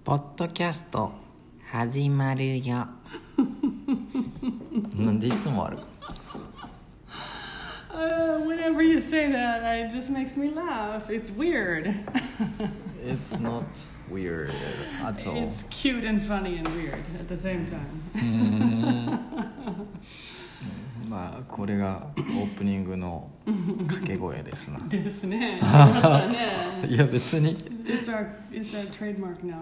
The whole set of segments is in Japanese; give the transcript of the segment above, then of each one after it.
ポッドキャスト始まるよなんでいつもある Whenever you say that, it just makes me laugh. It's weird. It's not weird at all. It's cute and funny and weird at the same time. まあこれがオープニングの掛け声ですなですね。 いや別に It's our trademark now.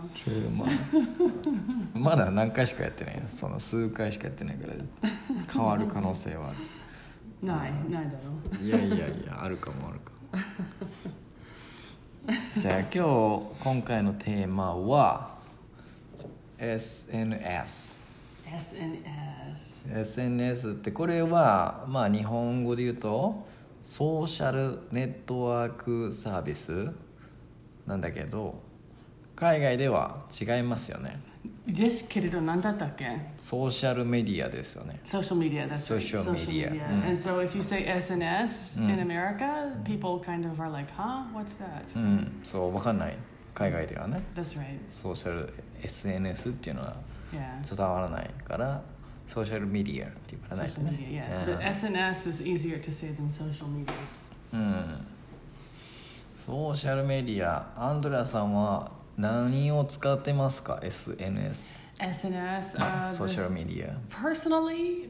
まだ何回しかやってないその数回しかやってないから変わる可能性はあるないだろう。 いやあるかもじゃあ今回のテーマは SNS ってこれはまあ日本語で言うとソーシャルネットワークサービスなんだけど海外では違いますよね。 ですけれど何だったっけ？ ソーシャルメディアですよね。 Social media, that's right. Social media. And so if you say SNS in America, people kind of are like, huh? What's that? そう分かんない海外ではね。 That's right. ソーシャル SNS っていうのは Yeah. 伝わらないからソーシャルメディアって言わないと Social ね。 media, yeah. But SNS is easier to say than social media. ソーシャルメディアアンドレアさんは何を使ってますか SNS SNS, ソーシャルメディア Personally,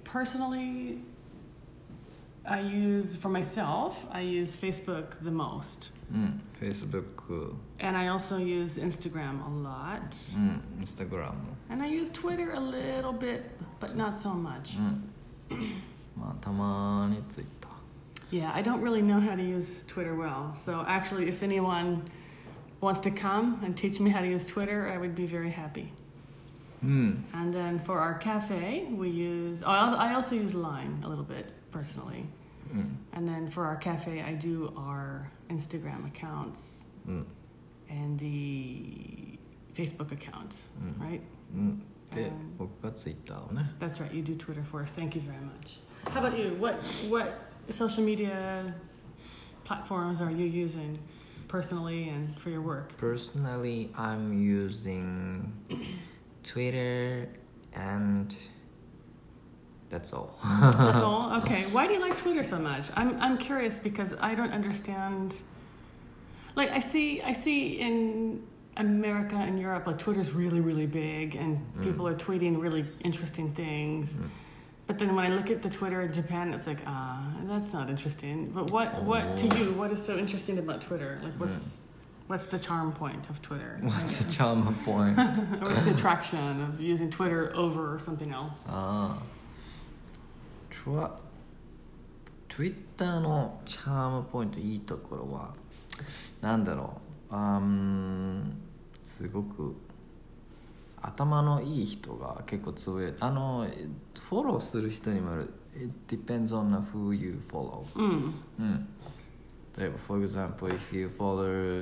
I use, for myself, I use Facebook the most. Facebook And I also use Instagram a lot. Instagram And I use Twitter a little bit, but not so much. まあたまにツイッター Yeah, I don't really know how to use Twitter well. So actually, if anyone wants to come and teach me how to use Twitter, I would be very happy. And then for our cafe, we use... I also use Line a little bit, personally. And then for our cafe, I do our Instagram accounts and the Facebook account, right? で僕がツイッターをね That's right, you do Twitter for us. Thank you very much. How about you? What social media platforms are you using personally and for your work? Personally, I'm using Twitter and that's all. That's all? Okay. Why do you like Twitter so much? I'm curious because I don't understand. Like I see in America and Europe, like Twitter's really, really big and people are tweeting really interesting things. But then when I look at the Twitter in Japan, it's like, that's not interesting. But what to you, what is so interesting about Twitter? Like what's the charm point of Twitter? What's the charm point? Or what's the attraction of using Twitter over something else? Twitter のチャームポイントいいところはなんだろうすごく頭のいい人が結構つぶやいてフォローする人にもよる It depends on who you follow 例えば for example if you follow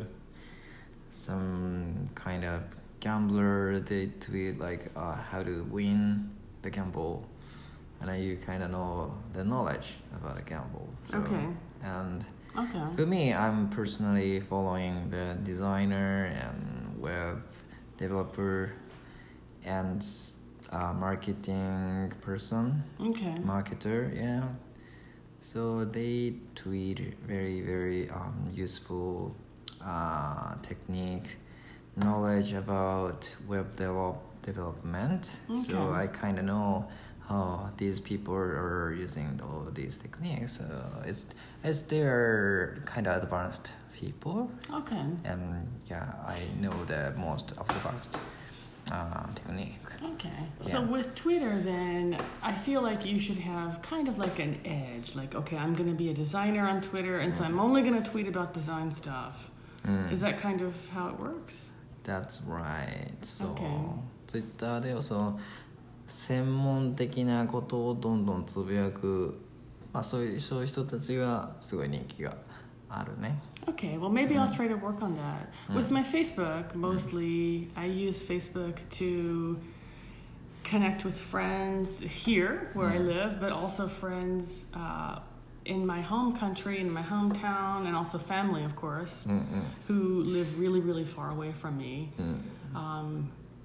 some kind of gambler they tweet like how to win the gamble and you kind of know the knowledge about a gamble so, Okay. And Okay. for me I'm personally following the designer and web developer and marketing person, Okay. marketer, yeah. So they tweet very, very useful technique, knowledge about web development. Okay. So I kind of know how these people are using all these techniques. It's their kind of advanced people. Okay. And yeah, I know the most advanced technique. Okay. Yeah. So with Twitter, then I feel like you should have kind of like an edge. Like, okay, I'm going to be a designer on Twitter, and so I'm only going to tweet about design stuff. Is that kind of how it works? That's right. So, Okay. Twitter ではその専門的なことをどんどんつぶやく、まあそういう人たちがすごい人気があるね。 Okay, well, maybe I'll try to work on that. With my Facebook, mostly I use Facebook to connect with friends here where I live, but also friends in my home country, in my hometown, and also family, of course, who live really, really far away from me.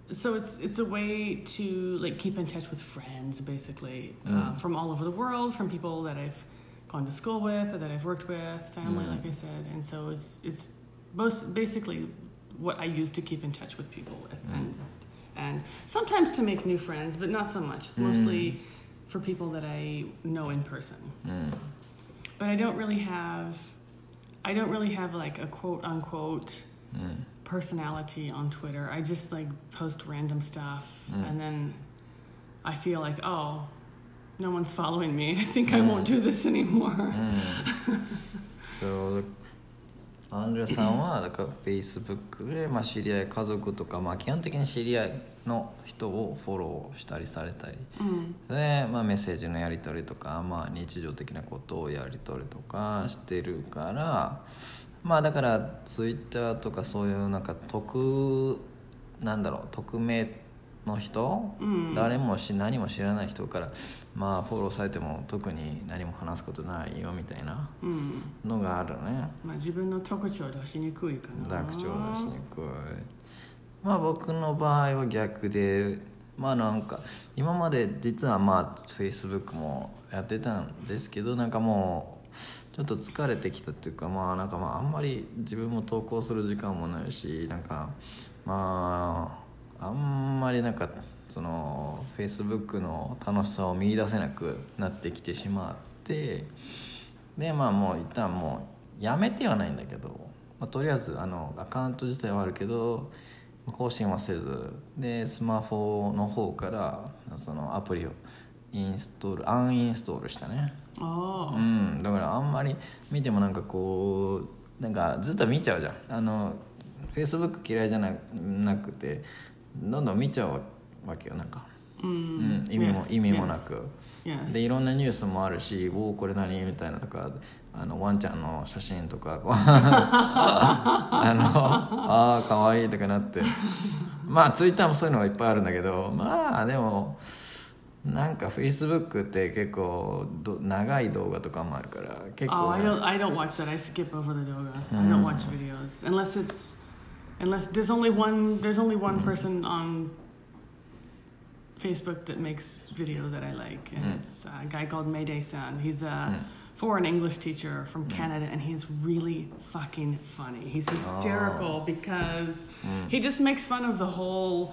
So it's a way to like keep in touch with friends, basically, from all over the world, from people that I've gone to school with or that I've worked with, family, like I said, and so it's most basically what I use to keep in touch with people with, and sometimes to make new friends, but not so much. It's mostly for people that I know in person. But I don't really have like a quote unquote personality on Twitter. I just like post random stuff, and then I feel like, oh, no one's following me. I think I won't do this anymore. So アンドレアさんはだから Facebook で、まあ、知り合い家族とか、まあ、基本的に知り合いの人をフォローしたりされたり、で、まあ、メッセージのやり取りとか、まあ、日常的なことをやり取りとかしてるから、まあだから Twitter とかそういうなんか匿名の人、誰も何も知らない人からまあフォローされても特に何も話すことないよみたいなのがあるね。 まあ自分の特徴出しにくいかな。 特徴出しにくい。まあ僕の場合は逆で、まあなんか今まで実はまあ Facebook もやってたんですけど、なんかもうちょっと疲れてきたっていうか、まあなんかまああんまり自分も投稿する時間もないし、なんかまああんまりなんかその Facebook の楽しさを見出せなくなってきてしまって、でまあもう一旦もうやめてはないんだけど、まあ、とりあえずアカウント自体はあるけど更新はせずで、スマホの方からそのアプリをアンインストールしたね。だからあんまり見てもなんかこうなんかずっと見ちゃうじゃん。Facebook 嫌いじゃなくてどんどん見ちゃうわけよ、なんか、意味もなく、でいろんなニュースもあるし、おおこれ何みたいなとか、ワンちゃんの写真とかあかわいいとかなってまあ Twitter もそういうのがいっぱいあるんだけど、まあでもなんか Facebook って結構長い動画とかもあるから結構、 ね、I don't watch that. I skip over the 動画。I don't watch videos unless there's only one person on Facebook that makes video that I like, and it's a guy called Mayday-san. He's a foreign English teacher from Canada, and he's really fucking funny. He's hysterical because he just makes fun of the whole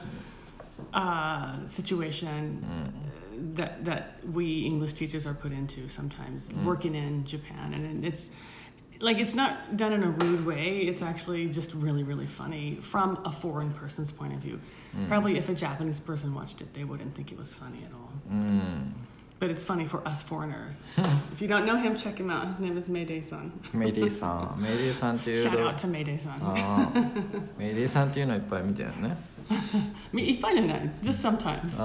situation that we English teachers are put into sometimes, working in Japan, and it's not done in a rude way. It's actually just really, really funny from a foreign person's point of view. Probably if a Japanese person watched it, they wouldn't think it was funny at all. But it's funny for us foreigners. So if you don't know him, check him out. His name is Mayday-san. Mayday-san っていう Shout out to Mayday-san. Mayday-san っていうのいっぱい見てるね。 いっぱいじゃない。Just sometimes.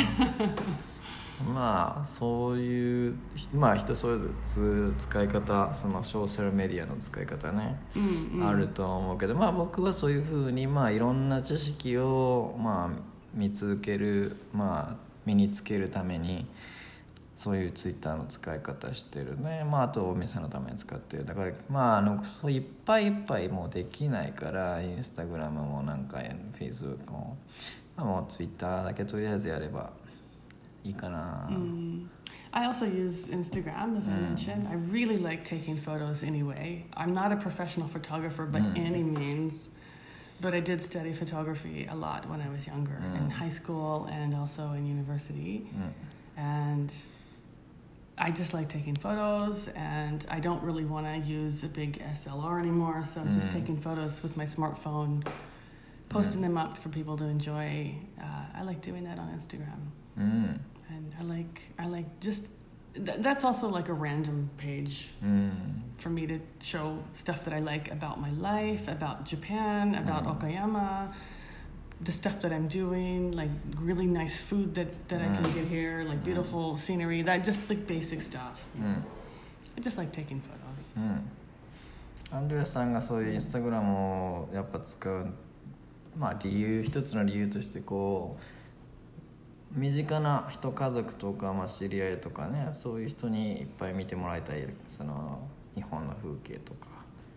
まあそういうまあ人それぞれ使い方、そのソーシャルメディアの使い方ね、あると思うけど、まあ僕はそういうふうにまあいろんな知識をまあ身につけるためにそういうツイッターの使い方してるね。まああとお店のために使ってる。だからまあそういっぱいもうできないから、インスタグラムもなんかフェイスブックも、まあ、もうツイッターだけとりあえずやればいいかな。 I also use Instagram, as I mentioned. I really like taking photos anyway. I'm not a professional photographer by any means, but I did study photography a lot when I was younger, in high school and also in university. And I just like taking photos, and I don't really want to use a big SLR anymore, so I'm just taking photos with my smartphone, posting them up for people to enjoy. I like doing that on Instagram. And I like just that's also like a random page for me to show stuff that I like about my life, about Japan, about Okayama, the stuff that I'm doing, like really nice food that I can get here, like beautiful scenery, that just like basic stuff. I just like taking photos. アンドレアさんがそういうインスタグラムをやっぱ使う、まあ一つの理由としてこう身近な人、家族とか、まあ、知り合いとかね、そういう人にいっぱい見てもらいたい、その日本の風景とか、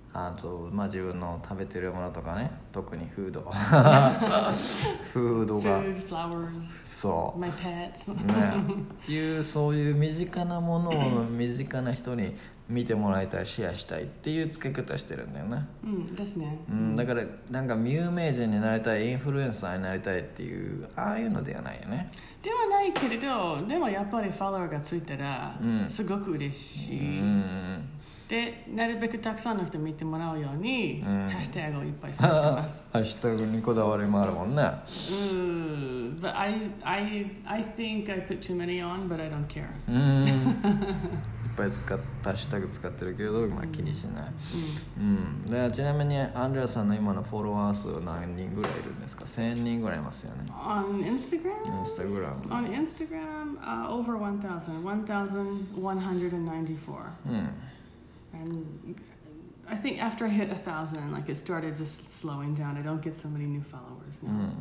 あと、まあ、自分の食べてるものとかね、特にフードフードが Food, flowers, そう my pets. ね、そういう身近なものを身近な人に見てもらいたい、シェアしたいっていう付け方してるんだよね。 ですね。 だからなんか有名人になりたい、インフルエンサーになりたいっていうああいうのではないよね。 ではないけれど、でもやっぱりフォロワーがついたら、すごく嬉しい。で、なるべくたくさんの人見てもらうように、ハッシュタグをいっぱいされてます。 ハッシュタグにこだわりもあるもんね。 But I think I put too many on, but I don't care. いっぱいハッシュタグ使ってるけど、まあ、気にしない。でちなみにアンドレアさんの今のフォロワー数は何人ぐらいいるんですか？1000人ぐらいいますよね。 On Instagram? On Instagram, over 1,000, 1,194. And I think after I hit 1,000, like it started just slowing down. I don't get so many new followers now.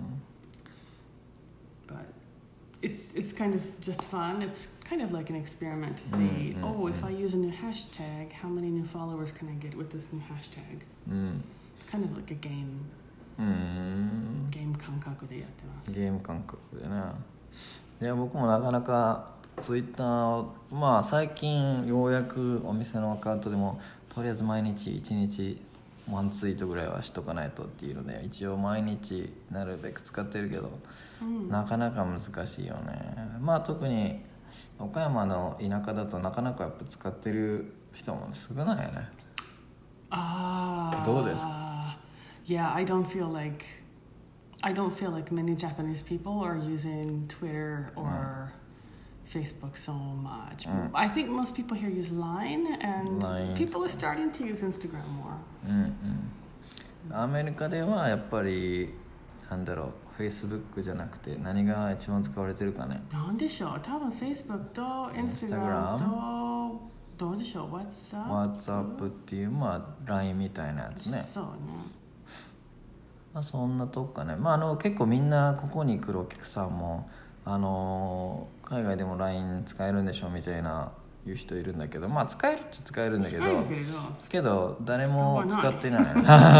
But it's kind of just fun. It's kind of like an experiment to see, if I use a new hashtag, how many new followers can I get with this new hashtag? It's kind of like a game. ゲーム感覚でやってます。 ゲーム感覚でね。いや僕もなかなかツイッター、まあ最近ようやくお店のアカウントでもとりあえず毎日1日ワンツイートぐらいはしとかないとっていうので、一応毎日なるべく使ってるけど、なかなか難しいよね。まあ特に岡山の田舎だとなかなかやっぱ使ってる人も少ないよね。どうですか ？Yeah, I don't feel like many Japanese people are using Twitter or Facebook so much. I think most people here use Line, and people are starting to use Instagram more. アメリカではやっぱりなんだろう、Facebook じゃなくて何が一番使われてるかね。 なんでしょう。多分 Facebook と Instagram とどうでしょう。WhatsApp っていうまあ LINE みたいなやつね。 そうね。 まあ、そんなとこかね。まあ結構みんなここに来るお客さんも海外でも LINE 使えるんでしょみたいな言う人いるんだけど、まあ使えるっちゃ使えるんだけど誰も使ってない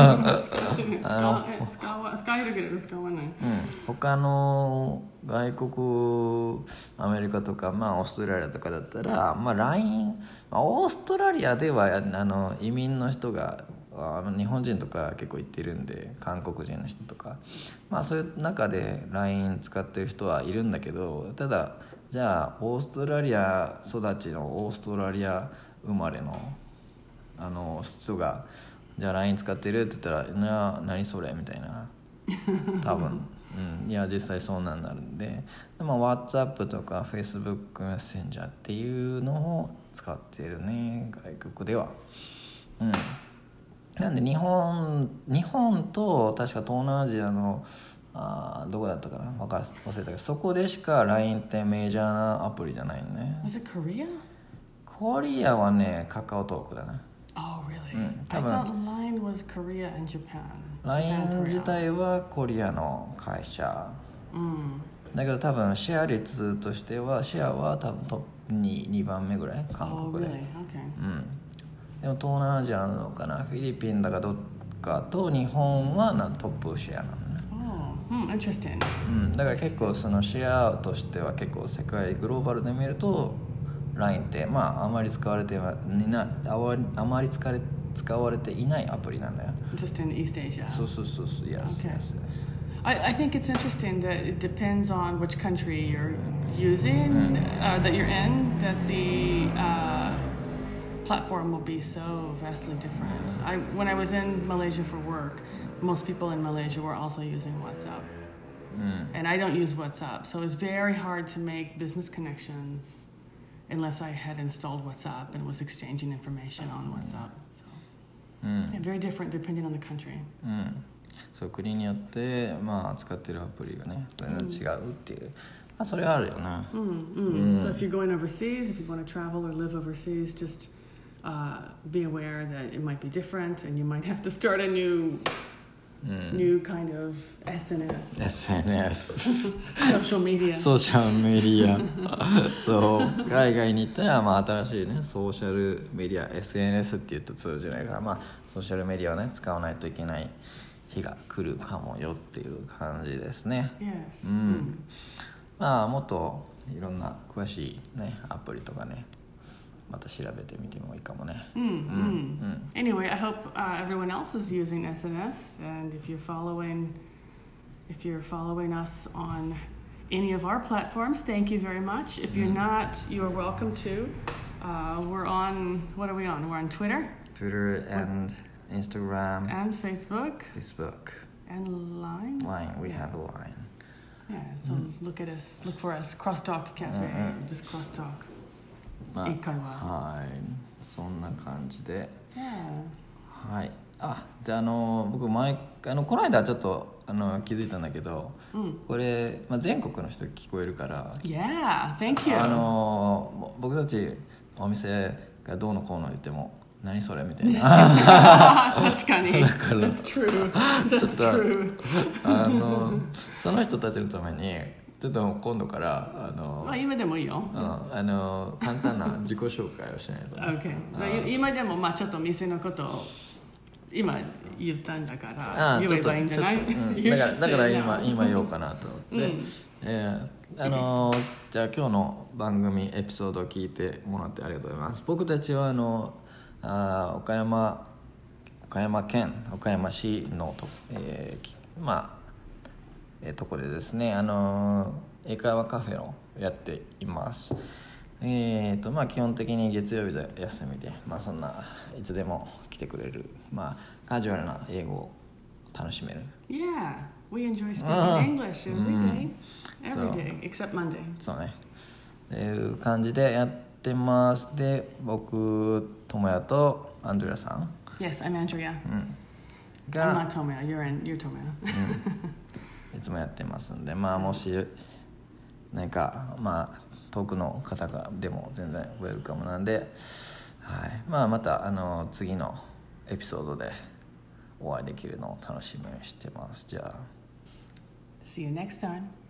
使えるけど使わない。 他の外国アメリカとか、まあ、オーストラリアとかだったら、まあ、LINE、オーストラリアでは移民の人が日本人とか結構行ってるんで、韓国人の人とか、まあそういう中で LINE 使ってる人はいるんだけど、ただじゃあオーストラリア育ちのオーストラリア生まれの人がじゃあ LINE 使ってるって言ったら何それみたいな多分いや実際そうなんなるんで、WhatsApp とか Facebook メッセンジャーっていうのを使ってるね、外国では。なんで日本と確か東南アジアのどこだったかな忘れたけど、そこでしか LINE ってメジャーなアプリじゃないのね。 Was it Korea? コリアはねカカオトークだな。 Oh really? I thought LINE was Korea and Japan. LINE 自体はコリアの会社。だけど多分シェア率としてはシェアは多分トップ2番目ぐらい韓国で。 Oh really? Okay. でも東南アジアなのかな、フィリピンだかどっかと日本はトップシェアなのね。 Interesting. だから結構そのシェアとしては結構世界グローバルで見ると LINE ってあまり使われていないアプリなんだよ。 Just in East Asia. そう Yes, Okay. yes. I think it's interesting that it depends on which country you're using, that you're in, that the platform will be so vastly different. When I was in Malaysia for work, most people in Malaysia were also using WhatsApp. And I don't use WhatsApp, so it's very hard to make business connections unless I had installed WhatsApp and was exchanging information on WhatsApp. So yeah, very different depending on the country. そう国によって使ってるアプリがね違うっていう、それはあるよな。 So if you're going overseas, if you want to travel or live overseas, just be aware that it might be different and you might have to start a new new kind of SNS. SNS Social media. ソーシャルメディアそう海外に行ったら、まあ、新しいねソーシャルメディア SNS って言うと通じないから、まあ、ソーシャルメディアをね使わないといけない日が来るかもよっていう感じですね。 Yes. まあもっといろんな詳しいねアプリとかねまた調べてみてもいいかもね。 Anyway, I hope everyone else is using SNS, and if you're following us on any of our platforms, thank you very much. If you're not, you are welcome to. We're on. What are we on? We're on Twitter, and Instagram and Facebook, and Line. We have a Line. Yeah, so look for us, Crosstalk Cafe, just Crosstalk. まあ、 英会話はいそんな感じで、 Yeah. はいで僕この間ちょっと気づいたんだけど、これ、まあ、全国の人聞こえるから、 Yeah, thank you. 僕たちお店がどうのこうの言っても何それみたいな確かにだから That's true. That's ちょっと true. その人たちのためにちょっと今度からまあ今でもいいよ。 簡単な自己紹介をしないと、 Okay. まあ今でもまあちょっと店のことを今言ったんだから言えばいいんじゃない？ だから今言おうかなと思って、じゃあ今日の番組エピソードを聞いてもらってありがとうございます。僕たちは岡山県岡山市のとこでですね英会話カフェをやっています。まあ基本的に月曜日で休みで、まあそんないつでも来てくれる、まあカジュアルな英語を楽しめる。 Yeah, we enjoy speaking English every day, except Monday. そうね。っていう感じでやってます。で、僕智也とアンドレアさん。 Yes, I'm Andrea. I'm not Tomoya. You're Tomoya. いつもやってますんで、まあもし何かまあ遠くの方がでも全然ウェルカムなんで、はい、まあまた次のエピソードでお会いできるのを楽しみにしてます。じゃあ See you next time.